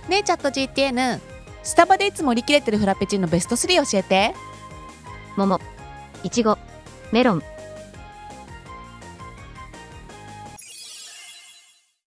ねえチャット GTN、 スタバでいつも売り切れてるフラペチーノベスト3教えて。 桃、いちご、メロン、